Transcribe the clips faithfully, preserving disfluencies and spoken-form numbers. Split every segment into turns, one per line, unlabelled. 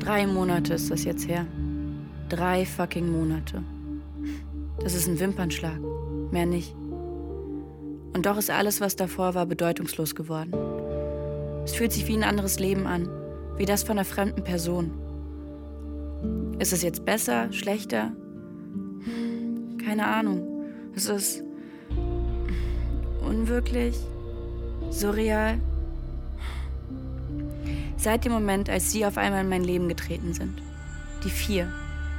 Drei Monate ist das jetzt her. Drei fucking Monate. Das ist ein Wimpernschlag. Mehr nicht. Und doch ist alles, was davor war, bedeutungslos geworden. Es fühlt sich wie ein anderes Leben an. Wie das von einer fremden Person. Ist es jetzt besser, schlechter? Keine Ahnung. Es ist unwirklich, surreal. Seit dem Moment, als sie auf einmal in mein Leben getreten sind. Die vier.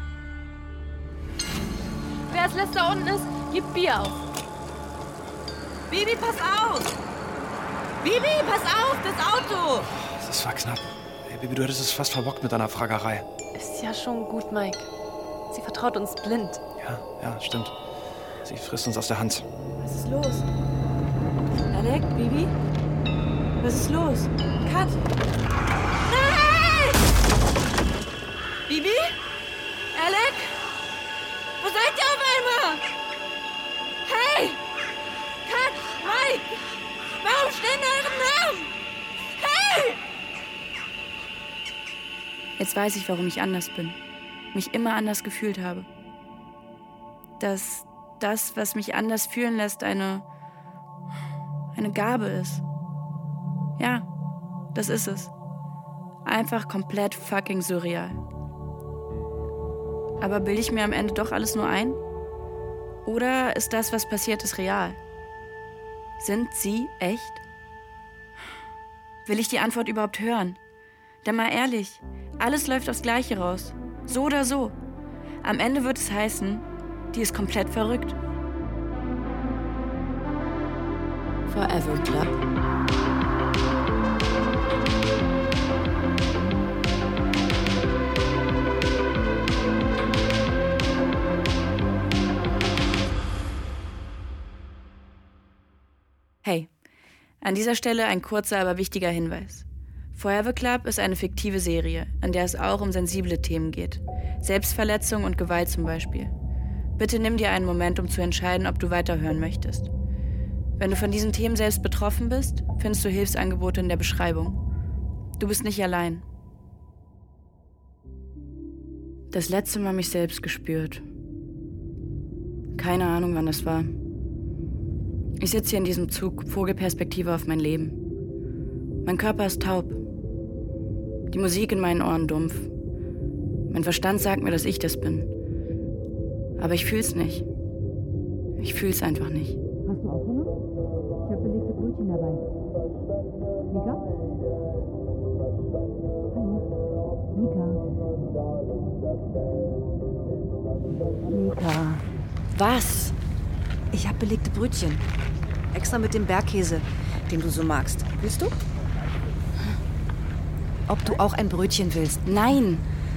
Wer als letzter unten ist, gibt Bier auf.
Bibi, pass auf! Bibi, pass auf, das Auto!
Das war knapp. Hey, Bibi, du hättest es fast verbockt mit deiner Fragerei.
Ist ja schon gut, Mike. Sie vertraut uns blind.
Ja, ja, stimmt. Sie frisst uns aus der Hand.
Was ist los? Alec, Bibi? Was ist los? Kat!
Nein! Bibi? Alec? Wo seid ihr auf einmal? Hey! Kat! Mike! Warum stehen eure Namen? Hey!
Jetzt weiß ich, warum ich anders bin. Mich immer anders gefühlt habe. Dass das, was mich anders fühlen lässt, eine, eine Gabe ist. Ja, das ist es. Einfach komplett fucking surreal. Aber bilde ich mir am Ende doch alles nur ein? Oder ist das, was passiert ist, real? Sind sie echt? Will ich die Antwort überhaupt hören? Denn mal ehrlich, alles läuft aufs Gleiche raus. So oder so. Am Ende wird es heißen, die ist komplett verrückt. Forever Club. Hey, an dieser Stelle ein kurzer, aber wichtiger Hinweis. Forever Club ist eine fiktive Serie, an der es auch um sensible Themen geht. Selbstverletzung und Gewalt zum Beispiel. Bitte nimm dir einen Moment, um zu entscheiden, ob du weiterhören möchtest. Wenn du von diesen Themen selbst betroffen bist, findest du Hilfsangebote in der Beschreibung. Du bist nicht allein. Das letzte Mal mich selbst gespürt. Keine Ahnung, wann das war. Ich sitze hier in diesem Zug, Vogelperspektive auf mein Leben. Mein Körper ist taub. Die Musik in meinen Ohren dumpf. Mein Verstand sagt mir, dass ich das bin. Aber ich fühl's nicht. Ich fühl's einfach nicht.
Hast du auch Hunger? Ich habe belegte Brötchen dabei. Mika? Hallo? Mika? Mika.
Was?
Ich habe belegte Brötchen. Extra mit dem Bergkäse, den du so magst. Willst du? Ob du auch ein Brötchen willst?
Nein.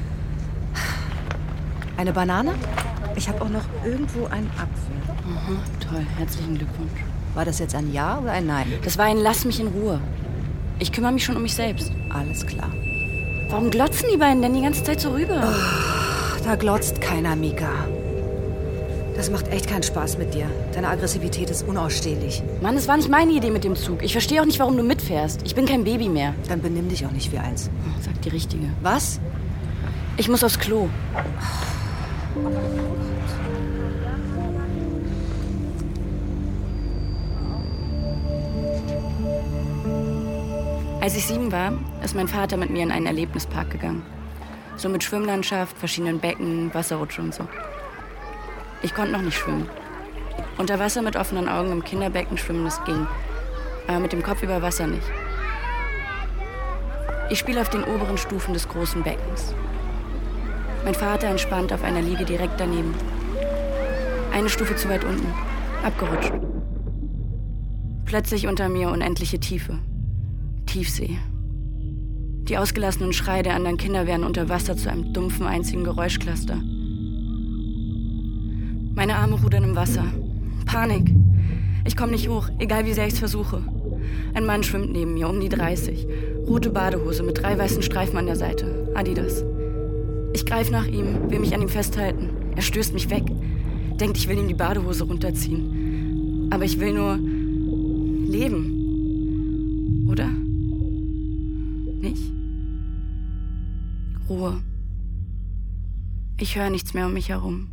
Eine Banane? Ich habe auch noch irgendwo einen Apfel.
Aha, toll, herzlichen Glückwunsch.
War das jetzt ein Ja oder ein Nein?
Das war ein Lass mich in Ruhe. Ich kümmere mich schon um mich selbst.
Alles klar.
Warum glotzen die beiden denn die ganze Zeit so rüber?
Oh, da glotzt keiner, Mika. Das macht echt keinen Spaß mit dir. Deine Aggressivität ist unausstehlich.
Mann, es war nicht meine Idee mit dem Zug. Ich verstehe auch nicht, warum du mitfährst. Ich bin kein Baby mehr.
Dann benimm dich auch nicht wie eins.
Oh, sag die Richtige.
Was?
Ich muss aufs Klo. Als ich sieben war, ist mein Vater mit mir in einen Erlebnispark gegangen. So mit Schwimmlandschaft, verschiedenen Becken, Wasserrutsche und so. Ich konnte noch nicht schwimmen. Unter Wasser mit offenen Augen im Kinderbecken schwimmen, das ging. Aber mit dem Kopf über Wasser nicht. Ich spiele auf den oberen Stufen des großen Beckens. Mein Vater entspannt auf einer Liege direkt daneben. Eine Stufe zu weit unten. Abgerutscht. Plötzlich unter mir unendliche Tiefe. Tiefsee. Die ausgelassenen Schreie der anderen Kinder werden unter Wasser zu einem dumpfen, einzigen Geräuschcluster. Meine Arme rudern im Wasser. Panik. Ich komme nicht hoch, egal wie sehr ich es versuche. Ein Mann schwimmt neben mir, um die dreißig. Rote Badehose mit drei weißen Streifen an der Seite. Adidas. Ich greife nach ihm, will mich an ihm festhalten. Er stößt mich weg. Denkt, ich will ihm die Badehose runterziehen. Aber ich will nur leben. Oder? Nicht? Ruhe. Ich höre nichts mehr um mich herum.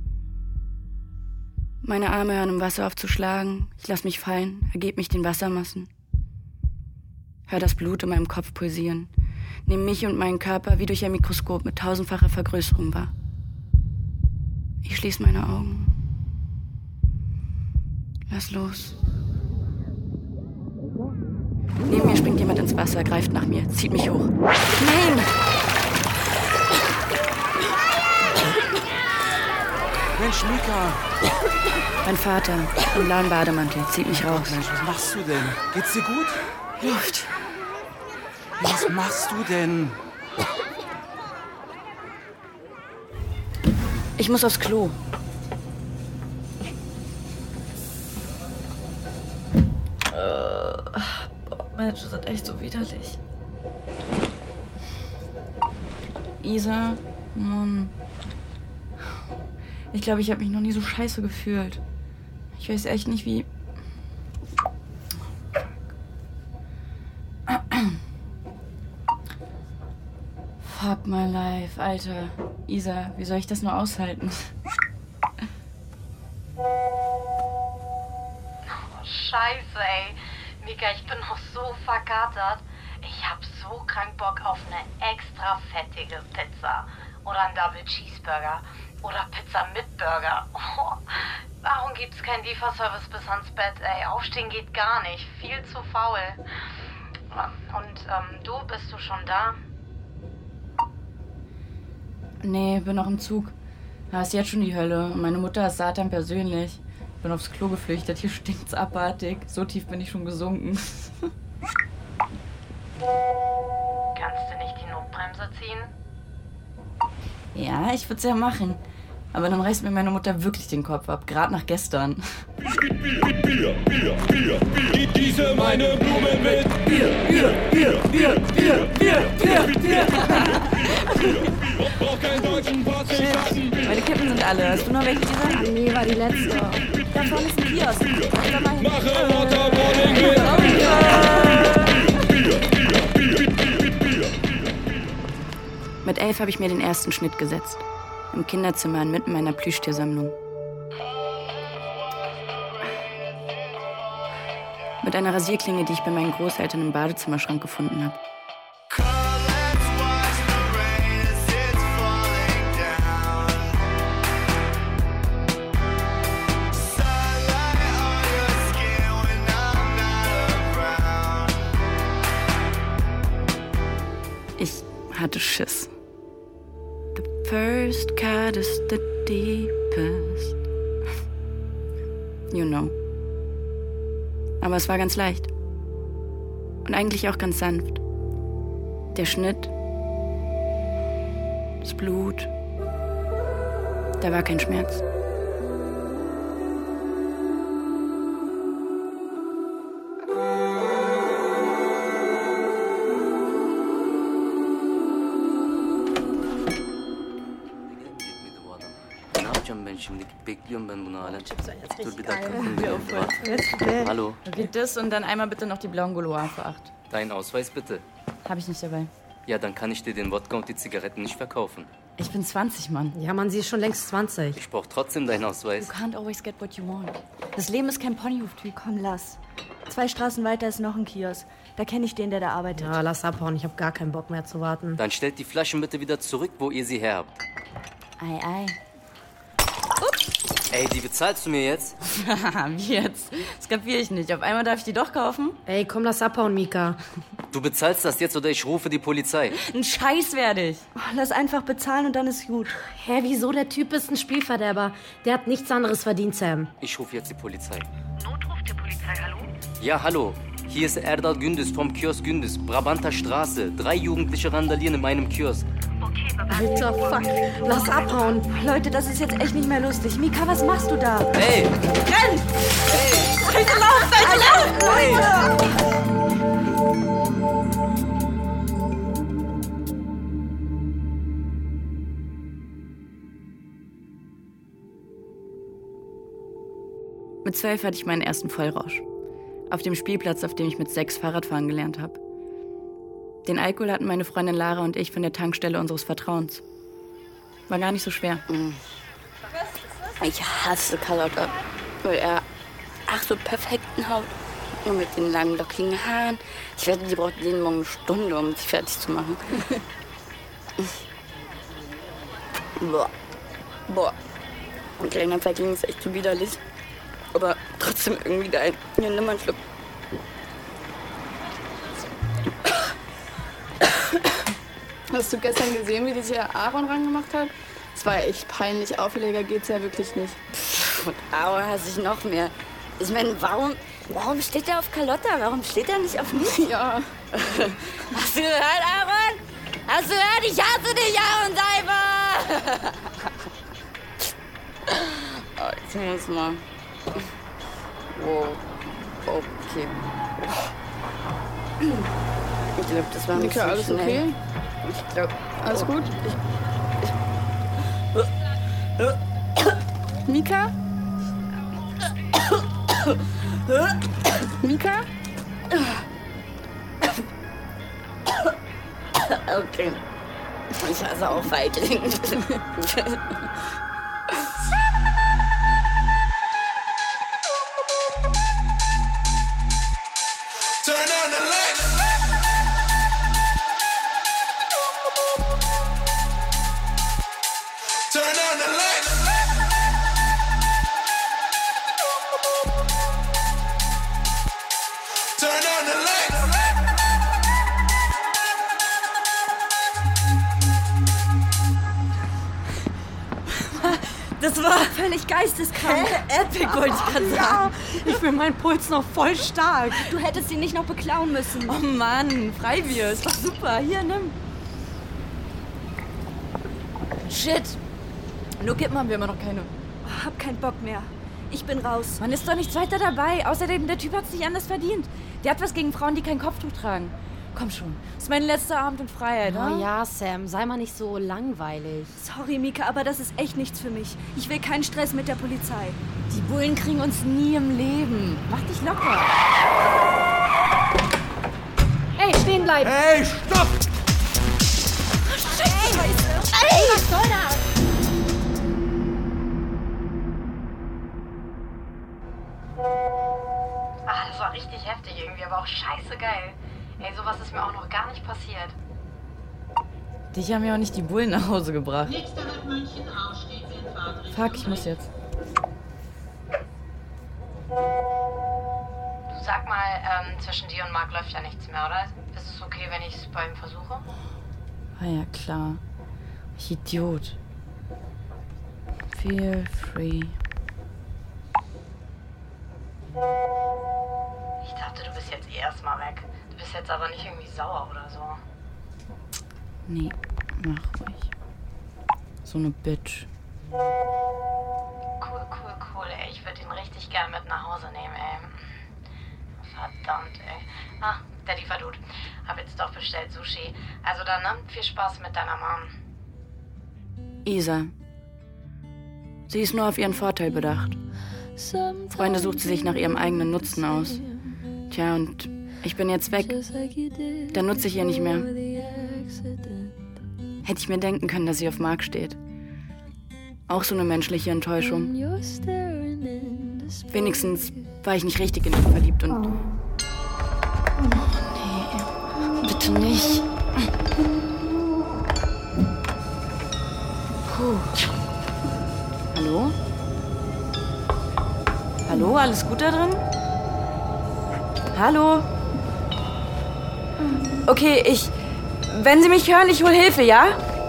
Meine Arme hören im Wasser auf zu schlagen. Ich lasse mich fallen, ergebe mich den Wassermassen. Hör das Blut in meinem Kopf pulsieren. Nehme mich und meinen Körper wie durch ein Mikroskop mit tausendfacher Vergrößerung wahr. Ich schließe meine Augen. Lass los. Neben mir springt jemand ins Wasser, greift nach mir, zieht mich hoch. Nein!
Mensch, Mika!
Mein Vater, im blauen Bademantel, zieht mich raus.
Mensch, was machst du denn? Geht's dir gut?
Luft.
Was machst du denn?
Ich muss aufs Klo.
Äh, boah, Mensch, das ist echt so widerlich.
Isa, Mann. Ich glaube, ich habe mich noch nie so scheiße gefühlt. Ich weiß echt nicht, wie... Fuck my life, Alter. Isa, wie soll ich das nur aushalten?
Oh, Scheiße, ey. Mika, ich bin noch so verkatert. Ich hab so krank Bock auf eine extra fettige Pizza. Oder einen Double Cheeseburger. Oder Pizza mit Burger. Oh, warum gibt's keinen Lieferservice bis ans Bett, ey? Aufstehen geht gar nicht. Viel zu faul. Und ähm, du, bist du schon da?
Nee, bin noch im Zug. Da ist jetzt schon die Hölle. Und meine Mutter ist Satan persönlich. Bin aufs Klo geflüchtet. Hier stinkt's abartig. So tief bin ich schon gesunken.
Kannst du nicht die Notbremse ziehen?
Ja, ich würde es ja machen. Aber dann reißt mir meine Mutter wirklich den Kopf ab. Gerade nach gestern.
Bier, Bier, Bier, Bier. Diese meine Blume mit Bier, Bier, Bier, Bier, Bier, Bier, Bier, Bier. Brauch keinen deutschen Pass.
Shit, meine Kippen sind alle. Hast du noch welche dieser?
Ah, nee, war die letzte.
Da vorne ist ein Kiosk. Da mal hin.
Mache Waterboarding mit
Mit elf habe ich mir den ersten Schnitt gesetzt. Im Kinderzimmer inmitten meiner Plüschtiersammlung. Mit einer Rasierklinge, die ich bei meinen Großeltern im Badezimmerschrank gefunden habe. Ich hatte Schiss. The first cut is the deepest. You know. Aber es war ganz leicht. Und eigentlich auch ganz sanft. Der Schnitt, das Blut, da war kein Schmerz.
Şimdi bekliyorum ben bunu hala. Dur bir dakika. Hallo.
Okay, das und dann einmal bitte noch die blauen Gaulois für acht.
Deinen Ausweis bitte.
Hab ich nicht dabei.
Ja, dann kann ich dir den Wodka und die Zigaretten nicht verkaufen.
Ich bin zwanzig, Mann.
Ja, Mann, sie ist schon längst zwanzig.
Ich brauch trotzdem deinen Ausweis.
You can't always get what you want. Das Leben ist kein Ponyhof-Typ.
Komm, lass. Zwei Straßen weiter ist noch ein Kiosk. Da kenne ich den, der da arbeitet.
Ja, lass abhauen. Ich habe gar keinen Bock mehr zu warten.
Dann stellt die Flaschen bitte wieder zurück, wo ihr sie her habt.
Ei, ei.
Ey, die bezahlst du mir jetzt?
Wie jetzt? Das kapiere ich nicht. Auf einmal darf ich die doch kaufen?
Ey, komm, lass abhauen, Mika.
Du bezahlst das jetzt oder ich rufe die Polizei.
Ein Scheiß werde ich.
Oh, lass einfach bezahlen und dann ist gut.
Hä, wieso? Der Typ ist ein Spielverderber. Der hat nichts anderes verdient, Sam.
Ich rufe jetzt die Polizei.
Notruf der Polizei, hallo?
Ja, hallo. Hier ist Erdal Gündüz vom Kiosk Gündüz, Brabanter Straße. Drei Jugendliche randalieren in meinem Kiosk.
Okay, bye-bye.
Alter, fuck. Lass abhauen.
Leute, das ist jetzt echt nicht mehr lustig. Mika, was machst du da?
Hey!
Renn! Hey! Bitte lauf, bitte lauf! Leute!
Mit zwölf hatte ich meinen ersten Vollrausch. Auf dem Spielplatz, auf dem ich mit sechs Fahrradfahren gelernt habe. Den Alkohol hatten meine Freundin Lara und ich von der Tankstelle unseres Vertrauens. War gar nicht so schwer.
Ich hasse Carlotta, weil er ach so perfekten Haut und mit den langen, lockigen Haaren. Ich wette, die braucht jeden Morgen eine Stunde, um sich fertig zu machen. Boah. Boah. Und kleiner Feigling ist echt so widerlich. Aber trotzdem irgendwie geil. Hier, nimm mal einen Schluck.
Hast du gestern gesehen, wie die sich Aaron rangemacht hat? Das war echt peinlich. Auffälliger geht's ja wirklich nicht.
Und Aaron hasse ich noch mehr. Ich meine, warum, warum steht er auf Carlotta? Warum steht er nicht auf mich?
Ja.
Hast du gehört, Aaron? Hast du gehört? Ich hasse dich, Aaron Seifer! Oh, ich muss mal. Wow. Okay. Ich glaube, das war ein
Nika, alles
schnell.
okay?
Ich glaube.
Alles
oh.
gut?
Ich,
Mika? Mika?
Okay. Ich hasse auch Feigling.
Das war völlig geisteskrank.
Hä? Epic, wollte ich gerade sagen.
Ja.
Ich fühle meinen Puls noch voll stark.
Du hättest ihn nicht noch beklauen müssen.
Oh Mann, Freibier, ist doch super. Hier, nimm. Shit. Nur Kippen haben wir immer noch keine.
Oh, hab keinen Bock mehr. Ich bin raus.
Man ist doch nichts weiter dabei. Außerdem, der Typ hat's nicht anders verdient. Der hat was gegen Frauen, die kein Kopftuch tragen. Komm schon, das ist mein letzter Abend in Freiheit,
Oh
ne?
ja, Sam, sei mal nicht so langweilig.
Sorry, Mika, aber das ist echt nichts für mich. Ich will keinen Stress mit der Polizei.
Die Bullen kriegen uns nie im Leben. Mach dich locker.
Hey, stehen bleiben!
Hey, stopp!
Scheiße!
Ey, was soll das?
Ah, das war richtig heftig irgendwie, aber auch scheiße geil. Ey, sowas ist mir auch noch gar nicht passiert.
Dich haben ja auch nicht die Bullen nach Hause gebracht. Fuck, ich muss jetzt.
Du sag mal, ähm, zwischen dir und Marc läuft ja nichts mehr, oder? Ist es okay, wenn ich es bei ihm versuche?
Ah ja, klar. Ich Idiot. Feel free.
Ich dachte, du bist jetzt eh erstmal weg. Du bist jetzt aber nicht irgendwie sauer oder so.
Nee, mach ruhig. So eine Bitch.
Cool, cool, cool, ey. Ich würde ihn richtig gern mit nach Hause nehmen, ey. Verdammt, ey. Ah, der Lieferdude. Hab jetzt doch bestellt Sushi. Also dann, ne? Viel Spaß mit deiner Mom.
Isa. Sie ist nur auf ihren Vorteil bedacht. Freunde sucht sie sich nach ihrem eigenen Nutzen aus. Tja, und ich bin jetzt weg. Dann nutze ich ihr nicht mehr. Hätte ich mir denken können, dass sie auf Marc steht. Auch so eine menschliche Enttäuschung. Wenigstens war ich nicht richtig in ihn verliebt und... Oh nee, bitte nicht. Puh. Hallo? Hallo, alles gut da drin? Hallo? Okay, ich... Wenn Sie mich hören, ich hol Hilfe, ja?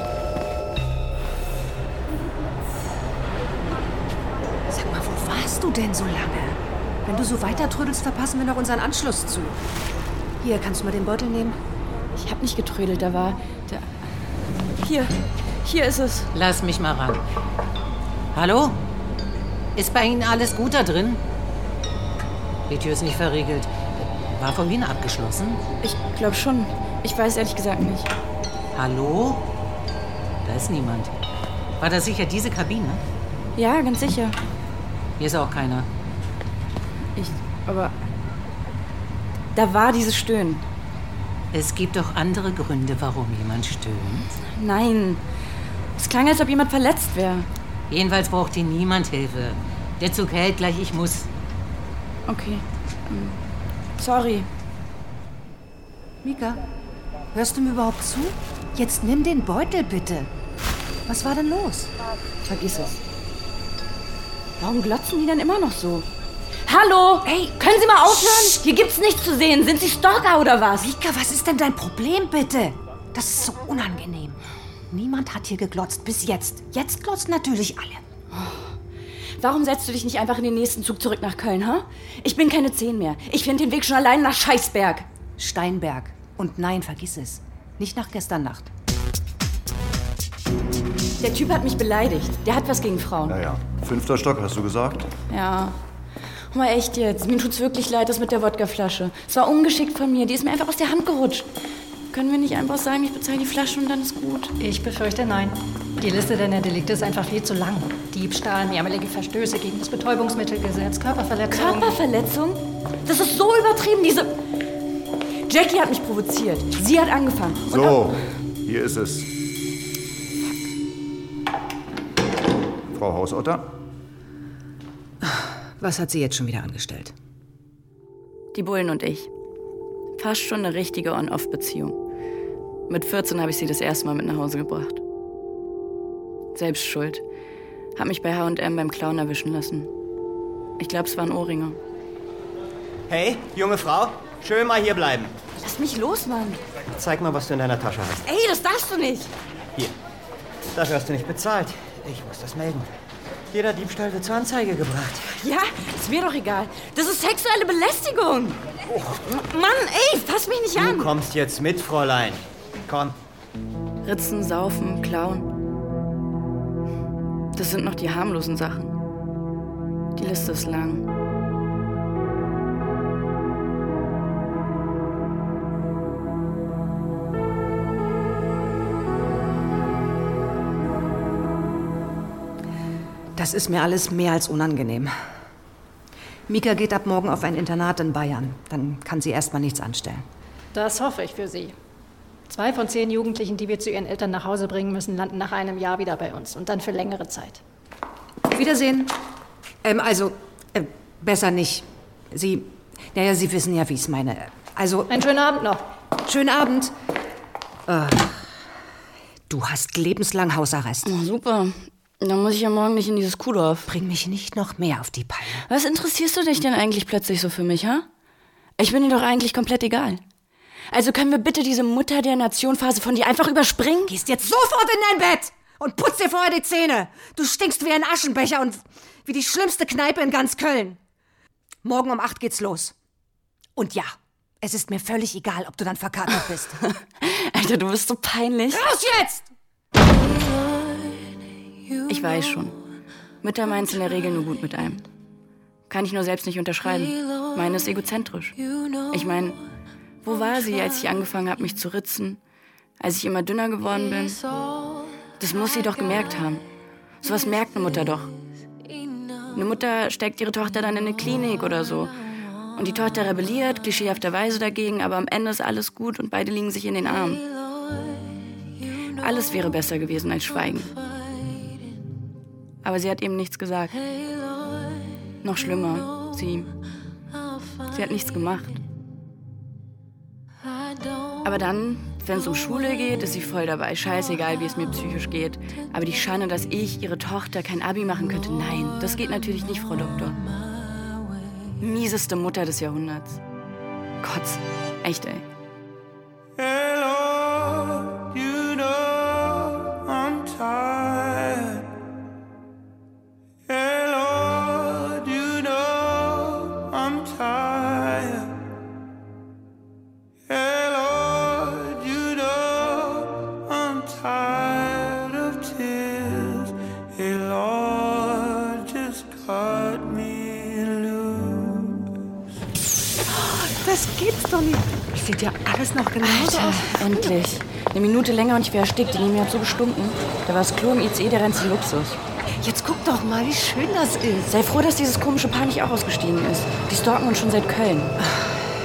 Sag mal, wo warst du denn so lange? Wenn du so weiter trödelst, verpassen wir noch unseren Anschluss zu. Hier, kannst du mal den Beutel nehmen?
Ich hab nicht getrödelt, da war... Da... Hier, hier ist es.
Lass mich mal ran. Hallo? Ist bei Ihnen alles gut da drin? Die Tür ist nicht verriegelt. War vorhin abgeschlossen?
Ich glaube schon. Ich weiß ehrlich gesagt nicht.
Hallo? Da ist niemand. War das sicher diese Kabine?
Ja, ganz sicher.
Hier ist auch keiner.
Ich, aber... Da war dieses Stöhnen.
Es gibt doch andere Gründe, warum jemand stöhnt.
Nein. Es klang, als ob jemand verletzt wäre.
Jedenfalls braucht hier niemand Hilfe. Der Zug hält gleich, ich muss.
Okay. Ähm, sorry.
Mika, hörst du mir überhaupt zu? Jetzt nimm den Beutel, bitte. Was war denn los?
Vergiss es. Warum glotzen die denn immer noch so? Hallo! Hey, können Sie mal aufhören? Hier gibt's nichts zu sehen. Sind Sie Stalker oder was?
Mika, was ist denn dein Problem, bitte? Das ist so unangenehm. Niemand hat hier geglotzt, bis jetzt. Jetzt glotzen natürlich alle.
Warum setzt du dich nicht einfach in den nächsten Zug zurück nach Köln, ha? Ich bin keine zehn mehr. Ich finde den Weg schon allein nach Scheißberg.
Steinberg. Und nein, vergiss es. Nicht nach gestern Nacht.
Der Typ hat mich beleidigt. Der hat was gegen Frauen.
Naja, fünfter Stock, hast du gesagt?
Ja. Mal echt jetzt. Mir tut's wirklich leid, das mit der Wodkaflasche. Es war ungeschickt von mir. Die ist mir einfach aus der Hand gerutscht. Können wir nicht einfach sagen, ich bezahle die Flasche und dann ist gut?
Ich befürchte nein. Die Liste deiner Delikte ist einfach viel zu lang. Diebstahl, mehrmalige Verstöße gegen das Betäubungsmittelgesetz, Körperverletzung.
Körperverletzung? Das ist so übertrieben, diese... Jackie hat mich provoziert. Sie hat angefangen. Und
so, hier ist es. Frau Hausotter?
Was hat sie jetzt schon wieder angestellt?
Die Bullen und ich. Fast schon eine richtige On-Off-Beziehung. Mit vierzehn habe ich sie das erste Mal mit nach Hause gebracht. Selbst schuld. Hab mich bei H und M beim Clown erwischen lassen. Ich glaube, es waren Ohrringe.
Hey, junge Frau, schön mal hier bleiben.
Lass mich los, Mann.
Zeig mal, was du in deiner Tasche hast.
Ey, das darfst du nicht.
Hier. Dafür hast du nicht bezahlt. Ich muss das melden. Jeder Diebstahl wird zur Anzeige gebracht.
Ja, ist mir doch egal. Das ist sexuelle Belästigung. Oh. Mann, ey, fass mich nicht
du
an.
Du kommst jetzt mit, Fräulein. Komm.
Ritzen, saufen, klauen. Das sind noch die harmlosen Sachen. Die Liste ist lang.
Das ist mir alles mehr als unangenehm. Mika geht ab morgen auf ein Internat in Bayern. Dann kann sie erst mal nichts anstellen.
Das hoffe ich für Sie. Zwei von zehn Jugendlichen, die wir zu ihren Eltern nach Hause bringen müssen, landen nach einem Jahr wieder bei uns. Und dann für längere Zeit.
Wiedersehen. Ähm, also, äh, besser nicht. Sie, naja, Sie wissen ja, wie ich es meine. Also...
Einen schönen Abend noch.
Schönen Abend. Äh, du hast lebenslang Hausarrest.
Oh, super. Dann muss ich ja morgen nicht in dieses Kuhdorf.
Bring mich nicht noch mehr auf die Palme.
Was interessierst du dich denn eigentlich plötzlich so für mich, ha? Ich bin dir doch eigentlich komplett egal. Also können wir bitte diese Mutter der Nation-Phase von dir einfach überspringen?
Gehst jetzt sofort in dein Bett und putz dir vorher die Zähne. Du stinkst wie ein Aschenbecher und wie die schlimmste Kneipe in ganz Köln. Morgen um acht geht's los. Und ja, es ist mir völlig egal, ob du dann verkatert bist.
Alter, du bist so peinlich.
Raus jetzt!
Ich weiß schon. Mütter meint's in der Regel nur gut mit einem. Kann ich nur selbst nicht unterschreiben. Meine ist egozentrisch. Ich meine, wo war sie, als ich angefangen habe, mich zu ritzen? Als ich immer dünner geworden bin? Das muss sie doch gemerkt haben. Sowas merkt eine Mutter doch. Eine Mutter steckt ihre Tochter dann in eine Klinik oder so. Und die Tochter rebelliert, klischeehafterweise dagegen, aber am Ende ist alles gut und beide liegen sich in den Armen. Alles wäre besser gewesen als Schweigen. Aber sie hat eben nichts gesagt. Noch schlimmer, sie... Sie hat nichts gemacht. Aber dann, wenn es um Schule geht, ist sie voll dabei. Scheißegal, wie es mir psychisch geht. Aber die Schande, dass ich, ihre Tochter, kein Abi machen könnte, nein, das geht natürlich nicht, Frau Doktor. Mieseste Mutter des Jahrhunderts. Kotz. Echt, ey.
Hello, you know I'm tired. Hello, you know I'm tired. Hello, you know I'm tired of tears. Hey Lord, just cut me loose.
Das gibt's doch nicht. Das sieht ja alles noch genauso
Alter,
aus.
endlich. Eine Minute länger und ich wäre erstickt. Die Nemi hat so gestunken. Da war das Klo im I C E der reinste Luxus.
Jetzt guck doch mal, wie schön das ist.
Sei froh, dass dieses komische Paar nicht auch ausgestiegen ist. Die stalken uns schon seit Köln.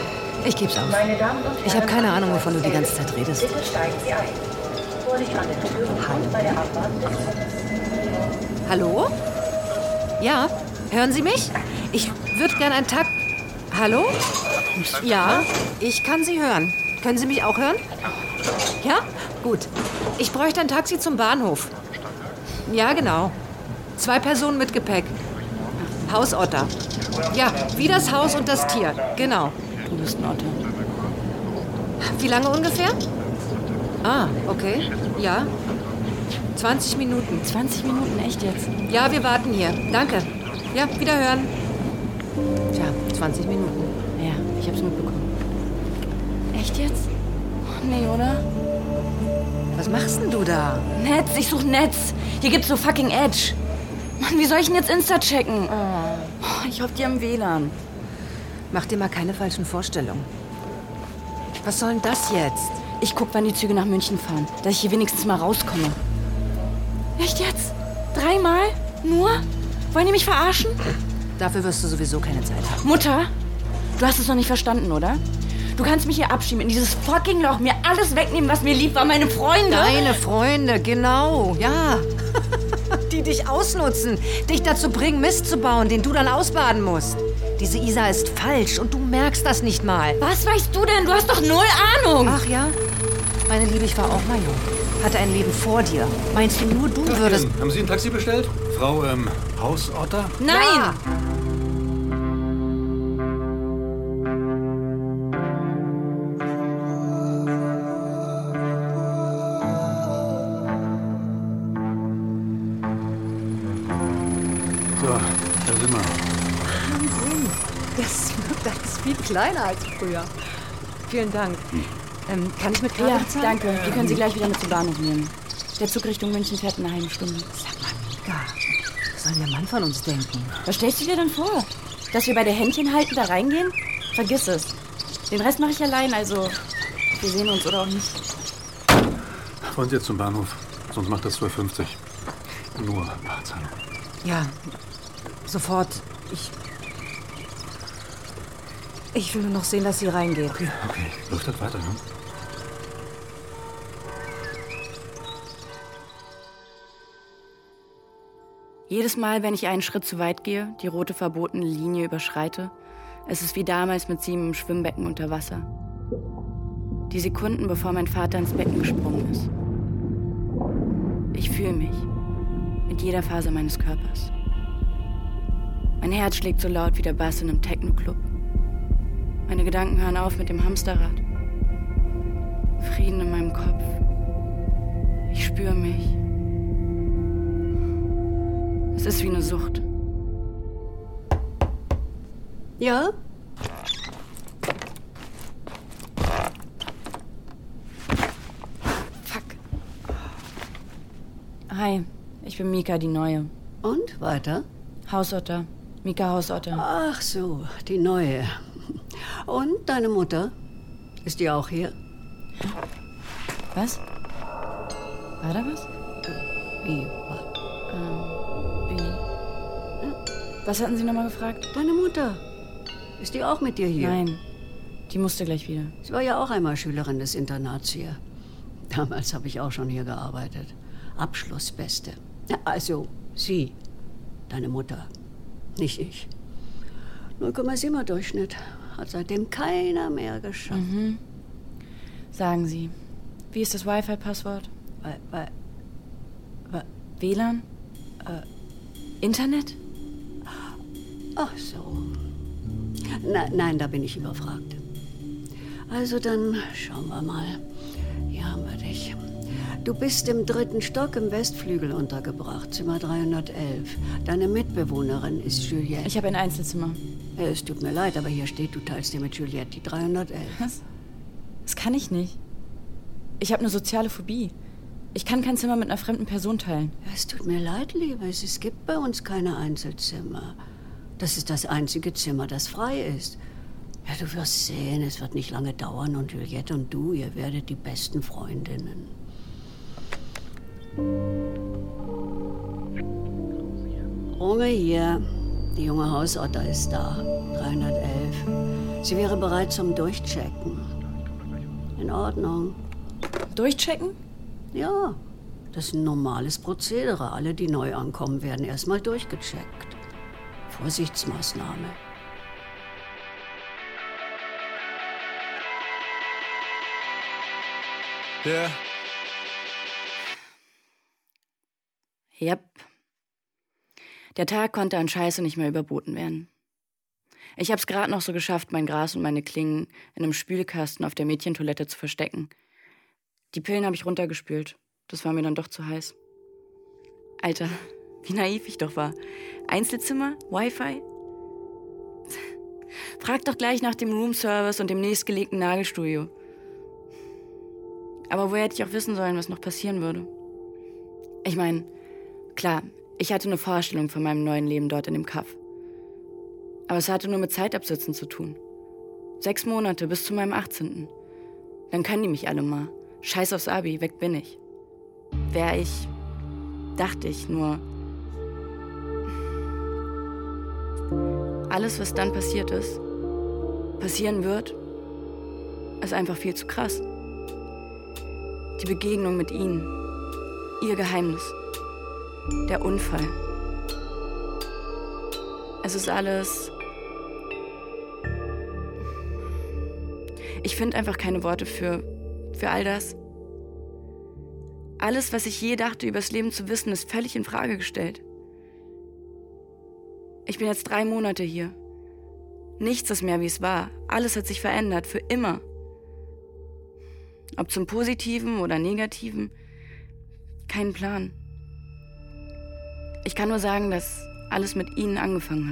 Ich geb's auf.
Meine Damen und Herren,
Ich habe keine Ahnung, wovon du die ganze Zeit redest.
Bitte steigen Sie ein. Vorsicht an den Türen und bei der Abfahrt des
Hallo? Ja, hören Sie mich? Ich würde gern einen Takt... Hallo? Ja, ich kann Sie hören. Können Sie mich auch hören? Ja? Gut. Ich bräuchte ein Taxi zum Bahnhof. Ja, genau. Zwei Personen mit Gepäck. Hausotter. Ja, wie das Haus und das Tier. Genau.
Du bist ein Otter.
Wie lange ungefähr? Ah, okay. Ja. zwanzig Minuten.
zwanzig Minuten, echt jetzt?
Ja, wir warten hier. Danke. Ja, wiederhören. Tja, zwanzig Minuten.
Ja, ich hab's mitbekommen. Echt jetzt? Oh, nee, oder?
Was machst denn du da?
Netz, ich such Netz. Hier gibt's so fucking Edge. Mann, wie soll ich denn jetzt Insta checken? Oh, ich hoffe, die haben W L A N.
Mach dir mal keine falschen Vorstellungen. Was soll denn das jetzt?
Ich guck, wann die Züge nach München fahren, dass ich hier wenigstens mal rauskomme. Echt jetzt? Dreimal? Nur? Wollen die mich verarschen?
Dafür wirst du sowieso keine Zeit haben.
Mutter, du hast es noch nicht verstanden, oder? Du kannst mich hier abschieben, in dieses fucking Loch, mir alles wegnehmen, was mir lieb war, meine Freunde.
Deine Freunde, genau, ja. Die dich ausnutzen, dich dazu bringen, Mist zu bauen, den du dann ausbaden musst. Diese Isa ist falsch und du merkst das nicht mal.
Was weißt du denn? Du hast doch null Ahnung.
Ach ja? Meine Liebe, ich war auch mal jung. Hatte ein Leben vor dir. Meinst du, nur du würdest...
Haben Sie ein Taxi bestellt? Frau, ähm, Hausotter?
Nein!
Ja.
So, da sind wir.
Wahnsinn. Das wirkt alles viel kleiner als früher. Vielen Dank. Ähm, kann ich mit Karte
Ja,
bezahlen?
danke. Die können Sie gleich wieder mit zum Bahnhof nehmen. Der Zug Richtung München fährt in einer halben Stunde.
Sag mal, Mika, was soll der Mann von uns denken?
Was stellst du dir denn vor? Dass wir bei der Händchen halten da reingehen? Vergiss es. Den Rest mache ich allein, also wir sehen uns oder auch nicht.
Wollen Sie jetzt zum Bahnhof? Sonst macht das zwölf fünfzig. Nur Barzahlung.
Ja, sofort. Ich... Ich will nur noch sehen, dass sie reingeht.
Okay, okay. Läuft das weiter, ne?
Jedes Mal, wenn ich einen Schritt zu weit gehe, die rote verbotene Linie überschreite, es ist wie damals mit Simon im Schwimmbecken unter Wasser. Die Sekunden, bevor mein Vater ins Becken gesprungen ist. Ich fühle mich. Mit jeder Faser meines Körpers. Mein Herz schlägt so laut wie der Bass in einem Techno-Club. Meine Gedanken hören auf mit dem Hamsterrad. Frieden in meinem Kopf. Ich spüre mich. Es ist wie eine Sucht.
Ja?
Fuck. Hi, ich bin Mika, die Neue.
Und, weiter?
Hausotter. Mika Hausotter.
Ach so, die Neue. Und deine Mutter? Ist die auch hier?
Was? War da was?
Wie?
Ähm, wie? Was hatten Sie nochmal gefragt?
Deine Mutter. Ist die auch mit dir hier?
Nein, die musste gleich wieder.
Sie war ja auch einmal Schülerin des Internats hier. Damals habe ich auch schon hier gearbeitet. Abschlussbeste. Ja, also, sie. Deine Mutter. Nicht ich. null Komma sieben Durchschnitt. Hat seitdem keiner mehr geschafft.
Mhm. Sagen Sie, wie ist das Wi-Fi-Passwort?
Weil, weil, weil,
W L A N?
Äh,
Internet?
Ach so. Na, nein, da bin ich überfragt. Also dann schauen wir mal. Hier haben wir dich. Du bist im dritten Stock im Westflügel untergebracht, Zimmer dreihundertelf. Deine Mitbewohnerin ist Juliette.
Ich habe ein Einzelzimmer.
Ja, es tut mir leid, aber hier steht, du teilst dir mit Juliette die dreihundertelf.
Was? Das kann ich nicht. Ich habe eine soziale Phobie. Ich kann kein Zimmer mit einer fremden Person teilen.
Ja, es tut mir leid, Liebes. Es gibt bei uns keine Einzelzimmer. Das ist das einzige Zimmer, das frei ist. Ja, du wirst sehen, es wird nicht lange dauern und Juliette und du, ihr werdet die besten Freundinnen. Runge hier. Die junge Hausotter ist da. dreihundertelf. Sie wäre bereit zum Durchchecken. In Ordnung.
Durchchecken?
Ja, das ist ein normales Prozedere. Alle, die neu ankommen, werden erstmal durchgecheckt. Vorsichtsmaßnahme.
Ja.
Yep. Der Tag konnte an Scheiße nicht mehr überboten werden. Ich hab's gerade noch so geschafft, mein Gras und meine Klingen in einem Spülkasten auf der Mädchentoilette zu verstecken. Die Pillen habe ich runtergespült. Das war mir dann doch zu heiß. Alter, wie naiv ich doch war. Einzelzimmer? Wi-Fi? Frag doch gleich nach dem Roomservice und dem nächstgelegten Nagelstudio. Aber woher hätte ich auch wissen sollen, was noch passieren würde? Ich meine, klar, ich hatte eine Vorstellung von meinem neuen Leben dort in dem Kaff. Aber es hatte nur mit Zeitabsitzen zu tun. Sechs Monate bis zu meinem achtzehnten Dann können die mich alle mal. Scheiß aufs Abi, weg bin ich. Wär ich, dachte ich, nur... Alles, was dann passiert ist, passieren wird, ist einfach viel zu krass. Die Begegnung mit ihnen, ihr Geheimnis, der Unfall. Es ist alles... Ich finde einfach keine Worte für, für all das. Alles, was ich je dachte, übers Leben zu wissen, ist völlig in Frage gestellt. Ich bin jetzt drei Monate hier. Nichts ist mehr, wie es war. Alles hat sich verändert, für immer. Ob zum Positiven oder Negativen, kein Plan. Ich kann nur sagen, dass alles mit ihnen angefangen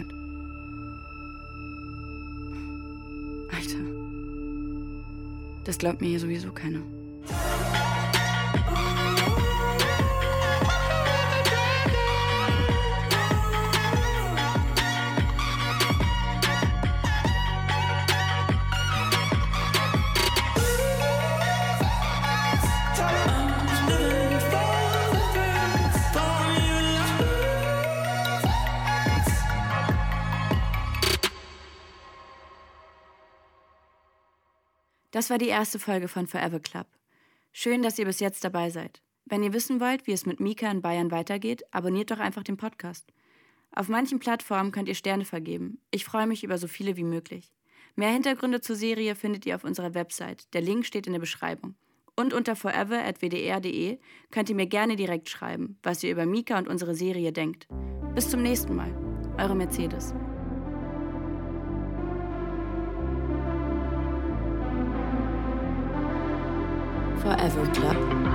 hat. Alter, das glaubt mir hier sowieso keiner. Das war die erste Folge von Forever Club. Schön, dass ihr bis jetzt dabei seid. Wenn ihr wissen wollt, wie es mit Mika in Bayern weitergeht, abonniert doch einfach den Podcast. Auf manchen Plattformen könnt ihr Sterne vergeben. Ich freue mich über so viele wie möglich. Mehr Hintergründe zur Serie findet ihr auf unserer Website. Der Link steht in der Beschreibung. Und unter forever at w d r punkt d e könnt ihr mir gerne direkt schreiben, was ihr über Mika und unsere Serie denkt. Bis zum nächsten Mal. Eure Mercedes. Forever Club.